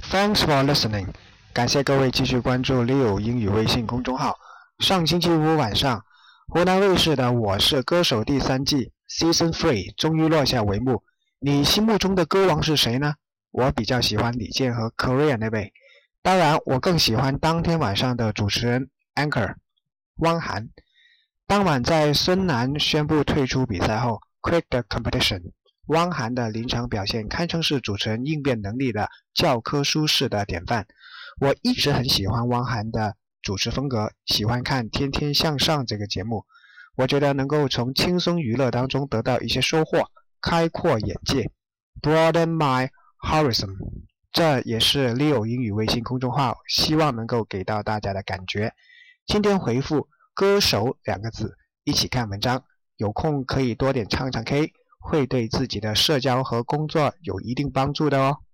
Thanks for listening. 感谢各位继续关注 Leo 英语微信公众号。上星期五晚上，湖南卫视的《我是歌手》第3季 Season 3终于落下帷幕。你心目中的歌王是谁呢？我比较喜欢李健和 Korea 那位，当然我更喜欢当天晚上的主持人 Anchor 汪涵。当晚在孙楠宣布退出比赛后 Quit the competition， 汪涵的临场表现堪称是主持人应变能力的教科书式的典范。我一直很喜欢汪涵的主持风格，喜欢看《天天向上》这个节目，我觉得能够从轻松娱乐当中得到一些收获，开阔眼界 Broaden my horizon， 这也是 Leo 英语微信公众号希望能够给到大家的感觉。今天回复歌手2个字，一起看文章，有空可以多点唱唱 K， 会对自己的社交和工作有一定帮助的哦。